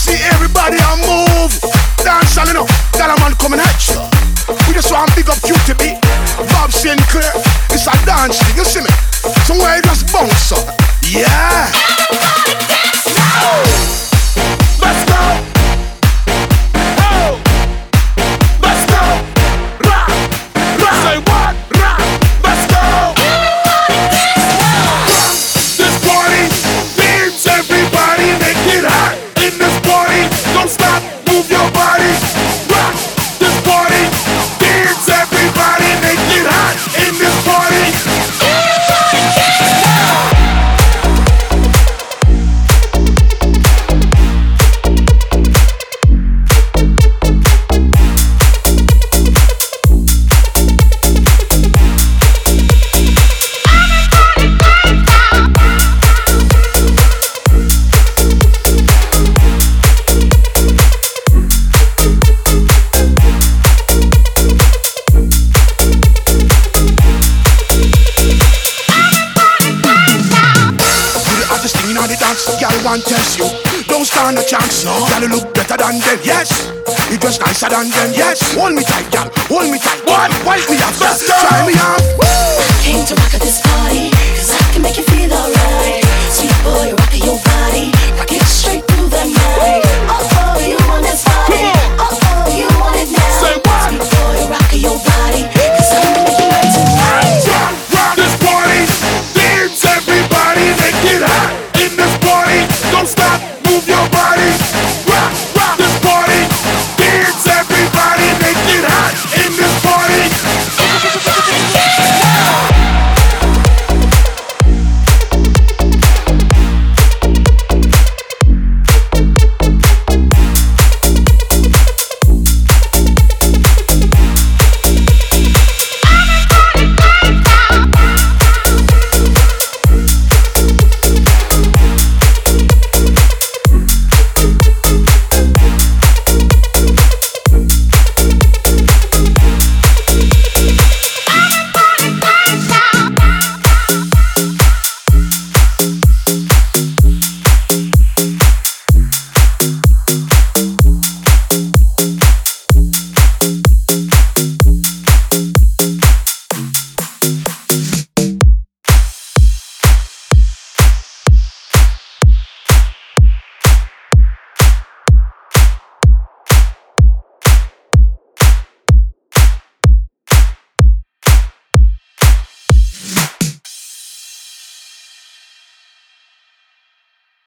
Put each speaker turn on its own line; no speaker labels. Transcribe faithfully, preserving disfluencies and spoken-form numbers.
see everybody on move. Dance all enough, got a man coming at you. We just want big up Q T B, Bob Sinclair. It's a dance thing, you see me? Somewhere you just bounce up. Yeah.
Everybody dance now.
Let's go. Oh. Let's go. Rock. Rock. Say what? Rock. Let's go.
Everybody dance now.
This party needs everybody. Make it hot in this party. Don't stop, move your body. Rock. This party needs everybody. Make it hot in this party.
Everybody dance now.
Girl want test you, don't stand a chance. No, girl you look better than them. Yes, you just nicer than them. Yes, hold me tight, girl, hold me tight. What? Wipe me off, let's go. Try me off.
Came to rock at this party, cause I can make you feel alright. Sweet boy, rock your body, rock it straight.